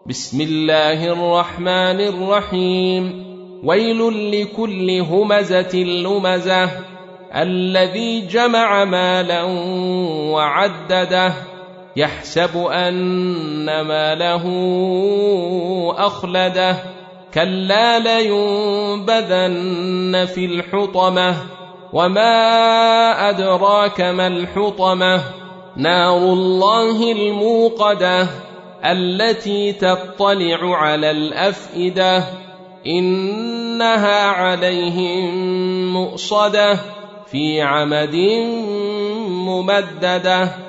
بسم الله الرحمن الرحيم. ويل لكل همزة لمزة الذي جمع مالا وعدده يحسب أن ماله أخلده كلا لينبذن في الحطمة وما أدراك ما الحطمة نار الله الموقدة التي تطلع على الأفئدة إنها عليهم مؤصدة في عمد ممددة.